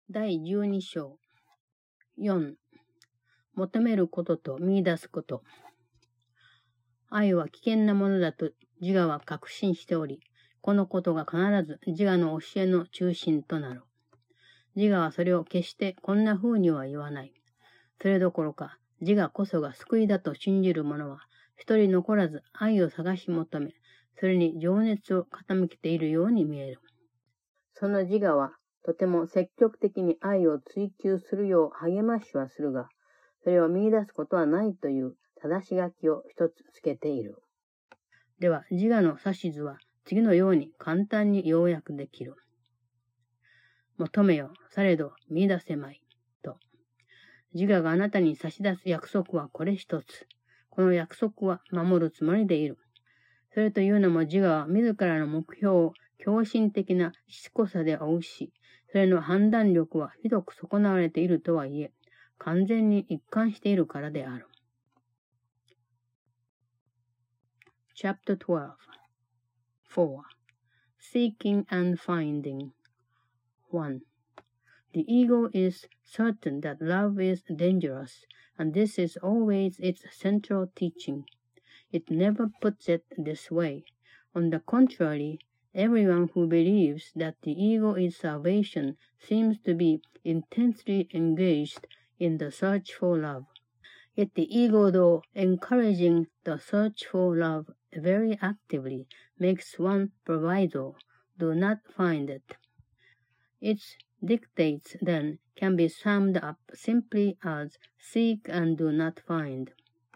第12章。4、求めることと見出すこと。愛は危険なものだと自我は確信しており、このことが必ず自我の教えの中心となる。自我はそれを決してこんな風には言わない。それどころか、自我こそが救いだと信じる者は、一人残らず愛を探し求め、それに情熱を傾けているように見える。その自我は、とても積極的に愛を追求するよう励ましはするが、それを見出すことはないという正し書きを一つつけている。では、自我の指図は次のように簡単に要約できる。求めよ、されど見出せまい。と。自我があなたに差し出す約束はこれ一つ。この約束は守るつもりでいる。それというのも自我は自らの目標を狂信的なしつこさで追うし、それの判断力はひどく損なわれているとはいえ、完全に一貫しているからである。Chapter 12 4. Seeking and Finding 1. The ego is certain that love is dangerous, and this is always its central teaching. It never puts it this way. On the contrary, everyone who believes that the ego is salvation seems to be intensely engaged in the search for love. Yet the ego, though encouraging the search for love very actively, makes one proviso: do not find it. Its dictates, then, can be summed up simply as seek and do not find.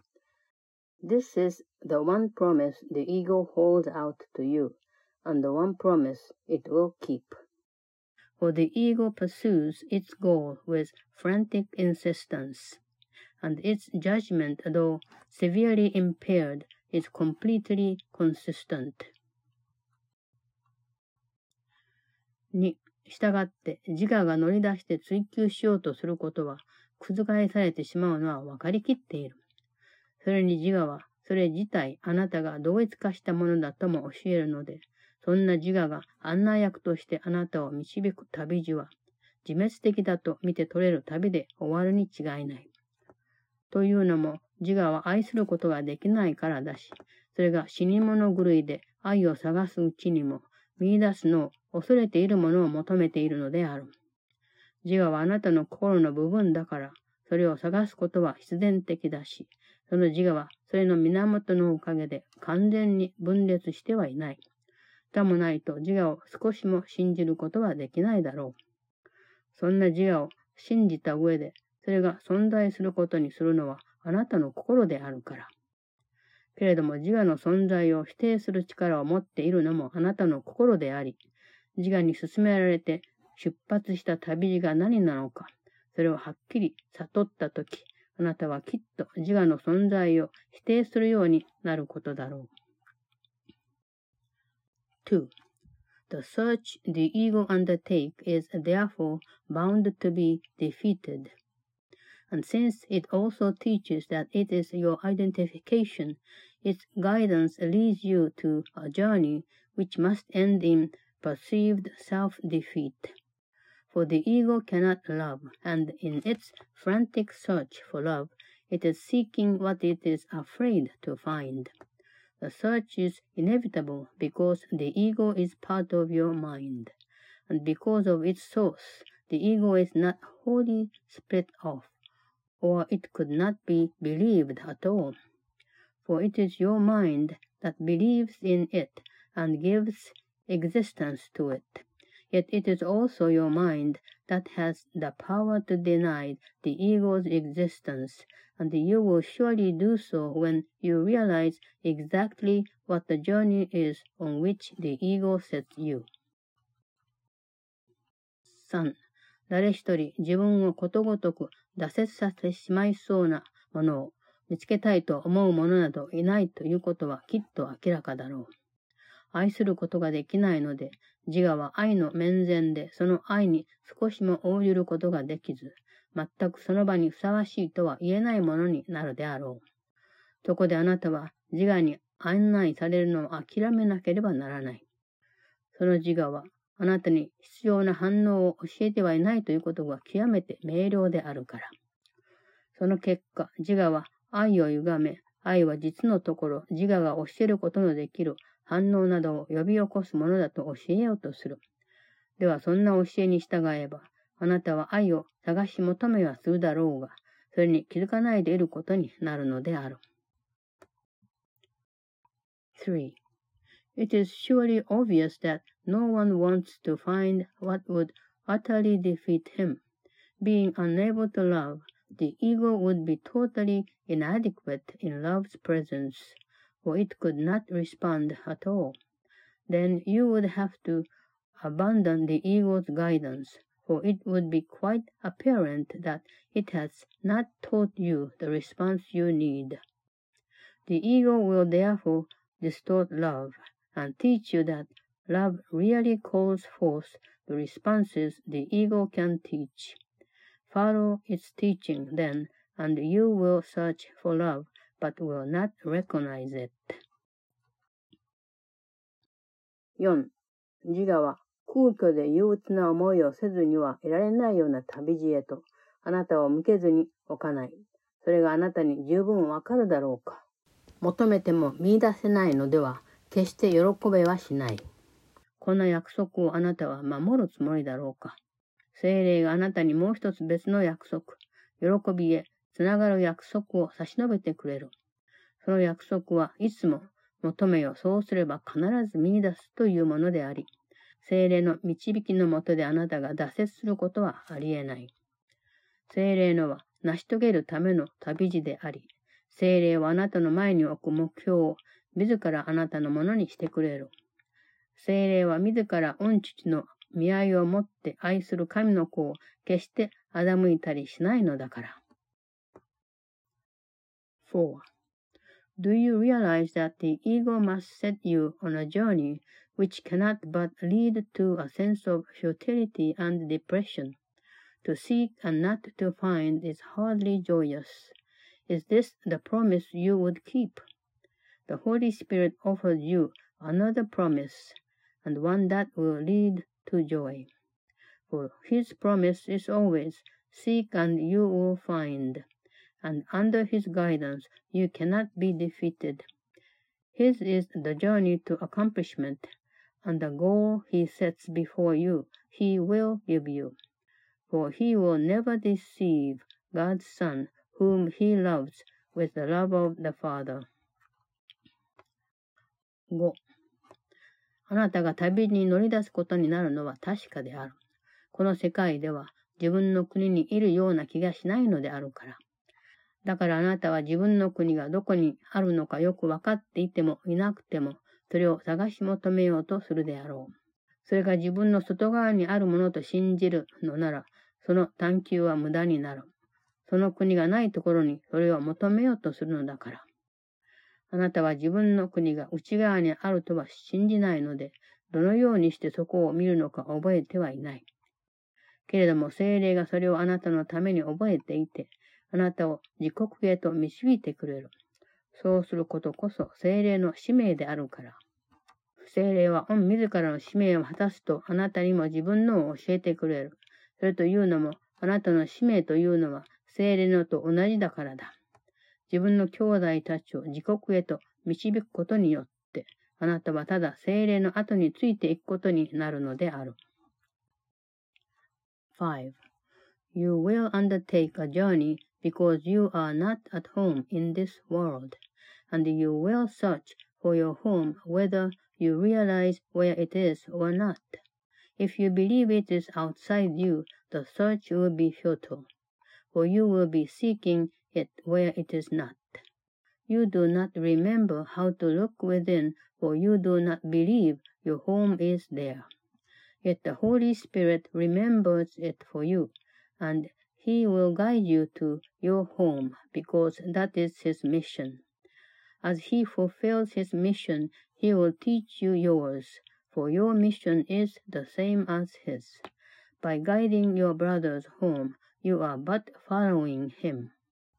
This is the one promise the ego holds out to you, and the one promise it will keep. For the ego pursues its goal with frantic insistence, and its judgment, though severely impaired, is completely consistent. 2. したがって自我が乗り出して追求しようとすることは覆されてしまうのは分かりきっている。それに自我はそれ自体あなたが同一化したものだとも教えるので、そんな自我が案内役としてあなたを導く旅路は自滅的だと見て取れる旅で終わるに違いない。というのも自我は愛することができないからだし、それが死に物狂いで愛を探すうちにも見出すのを恐れているものを求めているのである。自我はあなたの心の部分だから、それを探すことは必然的だし、その自我はそれの源のおかげで完全に分裂してはいない。さもないと自我を少しも信じることはできないだろう。そんな自我を信じた上で、それが存在することにするのはあなたの心であるから。けれども自我の存在を否定する力を持っているのもあなたの心であり、自我に勧められて出発した旅路が何なのか、それをはっきり悟ったとき、あなたはきっと自我の存在を否定するようになることだろう。2. The search the ego undertake is therefore bound to be defeated. And since it also teaches that it is your identification, its guidance leads you to a journey which must end in perceived self-defeat. For the ego cannot love, and in its frantic search for love, it is seeking what it is afraid to find. The search is inevitable because the ego is part of your mind, and because of its source, the ego is not wholly split off, or it could not be believed at all. For it is your mind that believes in it and gives existence to it. Yet it is also your mind that has the power to deny the ego's existence, and you will surely do so when you realize exactly what the journey is on which the ego sets you. 3. 誰一人自分をことごとく挫折させてしまいそうなものを見つけたいと思う者などいないということはきっと明らかだろう。愛することができないので、自我は愛の面前でその愛に少しも応じることができず、全くその場にふさわしいとは言えないものになるであろう。そこであなたは自我に案内されるのを諦めなければならない。その自我はあなたに必要な反応を教えてはいないということが極めて明瞭であるから。その結果、自我は愛を歪め、愛は実のところ、自我が教えることのできる反応などを呼び起こすものだと教えようとする。では、そんな教えに従えば、あなたは愛を探し求めはするだろうが、それに気づかないでいることになるのである。3. It is surely obvious that no one wants to find what would utterly defeat him. Being unable to love, the ego would be totally inadequate in love's presence, for it could not respond at all. Then you would have to abandon the ego's guidance, for it would be quite apparent that it has not taught you the response you need. The ego will therefore distort love and teach you that love really calls forth the responses the ego can teach. Follow its teaching then, and you will search for love, but will not recognize it. 4. 自我は空虚で憂鬱な思いをせずにはいられないような旅路へとあなたを向けずに置かない。それがあなたに十分わかるだろうか。求めても見出せないのでは決して喜べはしない。この約束をあなたは守るつもりだろうか。聖霊があなたにもう一つ別の約束、喜びへつながる約束を差し伸べてくれる。その約束はいつも求めよそうすれば必ず見出すというものであり、聖霊の導きのもとであなたが挫折することはありえない。聖霊のは成し遂げるための旅路であり、聖霊はあなたの前に置く目標を自らあなたのものにしてくれる。聖霊は自ら御父の見合いをもって愛する神の子を決して欺いたりしないのだから。4. Do you realize that the ego must set you on a journey which cannot but lead to a sense of futility and depression? To seek and not to find is hardly joyous. Is this the promise you would keep? The Holy Spirit offers you another promise, and one that will lead to joy. For his promise is always, seek and you will find, and under his guidance you cannot be defeated. His is the journey to accomplishment, and the goal he sets before you, he will give you. For he will never deceive God's Son, whom he loves with the love of the Father. 5. あなたが旅に乗り出すことになるのは確かである。この世界では自分の国にいるような気がしないのであるから。だからあなたは自分の国がどこにあるのかよくわかっていてもいなくても、それを探し求めようとするであろう。それが自分の外側にあるものと信じるのなら、その探求は無駄になる。その国がないところにそれを求めようとするのだから。あなたは自分の国が内側にあるとは信じないので、どのようにしてそこを見るのか覚えてはいない。けれども聖霊がそれをあなたのために覚えていて、あなたを自国へと導いてくれる。そうすることこそ聖霊の使命であるから。聖霊は御自らの使命を果たすとあなたにも自分のを教えてくれる。それというのも、あなたの使命というのは聖霊のと同じだからだ。自分の兄弟たちを自国へと導くことによって、あなたはただ聖霊の後についていくことになるのである。5. You will undertake a journey because you are not at home in this world, and you will search for your home whether you realize where it is or not. If you believe it is outside you, the search will be futile, for you will be seeking it where it is not. You do not remember how to look within, for you do not believe your home is there. Yet the Holy Spirit remembers it for you, and He will guide you to your home, because that is His mission. As He fulfills His mission, He will teach you yours, for your mission is the same as His. By guiding your brothers home, you are but following him.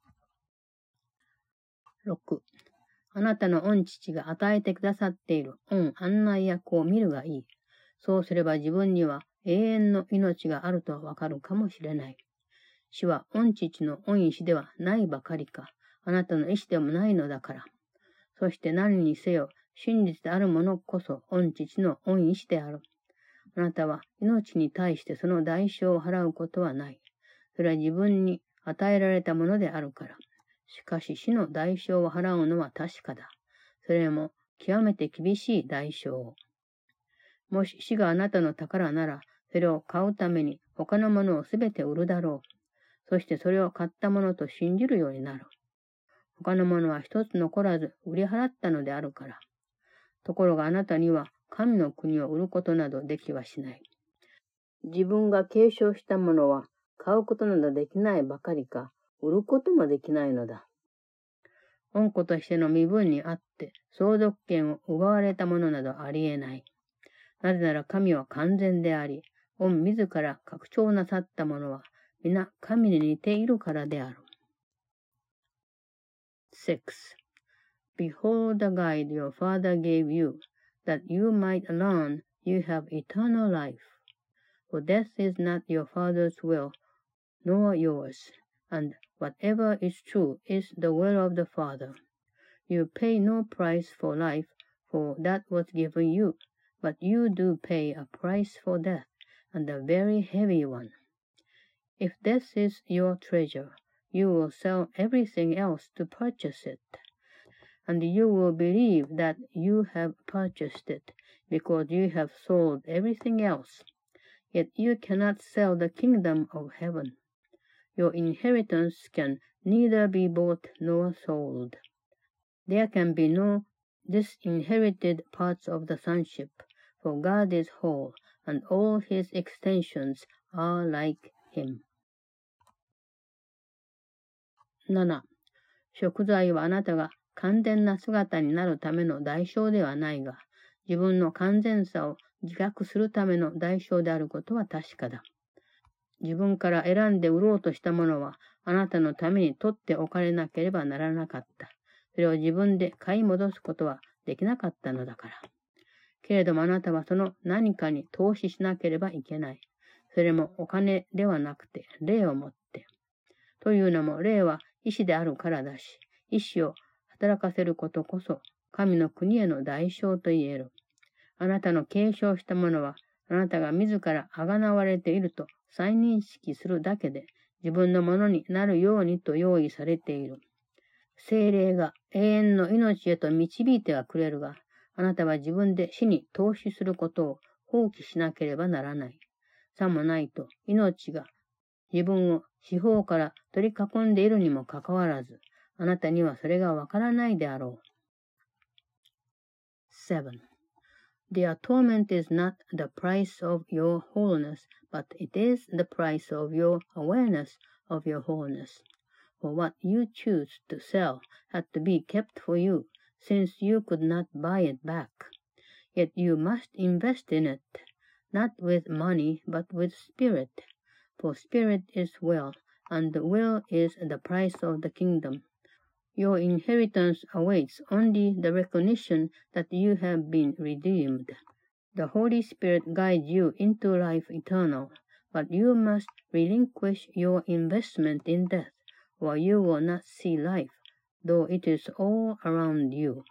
6. あなたの御父が与えてくださっている御案内役を見るがいい。 そうすれば自分には永遠の命があるとわかるかもしれない。死は御父の御意志ではないばかりか、あなたの意志でもないのだから。そして何にせよ、真実であるものこそ御父の御意志である。あなたは命に対してその代償を払うことはない。それは自分に与えられたものであるから。しかし死の代償を払うのは確かだ。それも極めて厳しい代償を。もし死があなたの宝なら、それを買うために他のものをすべて売るだろう。そしてそれを買ったものと信じるようになる。他のものは一つ残らず売り払ったのであるから。ところがあなたには神の国を売ることなどできはしない。自分が継承したものは買うことなどできないばかりか、売ることもできないのだ。恩子としての身分にあって相続権を奪われたものなどありえない。なぜなら神は完全であり、御自ら拡張なさったものは皆神に似ているからである。6. Behold the guide your father gave you, that you might learn you have eternal life. For death is not your father's will, nor yours, and whatever is true is the will of the Father. You pay no price for life, for that was given you, but you do pay a price for death, and a very heavy one. If death is your treasure, you will sell everything else to purchase it, and you will believe that you have purchased it, because you have sold everything else. Yet you cannot sell the kingdom of heaven. Your inheritance can neither be bought nor sold. There can be no disinherited parts of the sonship, for God is whole, and all his extensions are like him. 7. 贖罪はあなたが完全な姿になるための代償ではないが、自分の完全さを自覚するための代償であることは確かだ。自分から選んで売ろうとしたものは、あなたのために取っておかれなければならなかった。それを自分で買い戻すことはできなかったのだから。けれどもあなたはその何かに投資しなければいけない。それもお金ではなくて、霊をもって。というのも、霊は意志であるからだし、意志を働かせることこそ、神の国への代償と言える。あなたの継承したものは、あなたが自ら贖われていると再認識するだけで、自分のものになるようにと用意されている。聖霊が永遠の命へと導いてはくれるが、あなたは自分で死に投資することを放棄しなければならない。さもないと、命が自分を四方から取り囲んでいるにもかかわらず、あなたにはそれがわからないであろう。7. The atonement is not the price of your wholeness, but it is the price of your awareness of your wholeness. For what you choose to sell had to be kept for you, since you could not buy it back. Yet you must invest in it, not with money, but with spirit. For spirit is will, and will is the price of the kingdom. Your inheritance awaits only the recognition that you have been redeemed. The Holy Spirit guides you into life eternal, but you must relinquish your investment in death, or you will not see life, though it is all around you.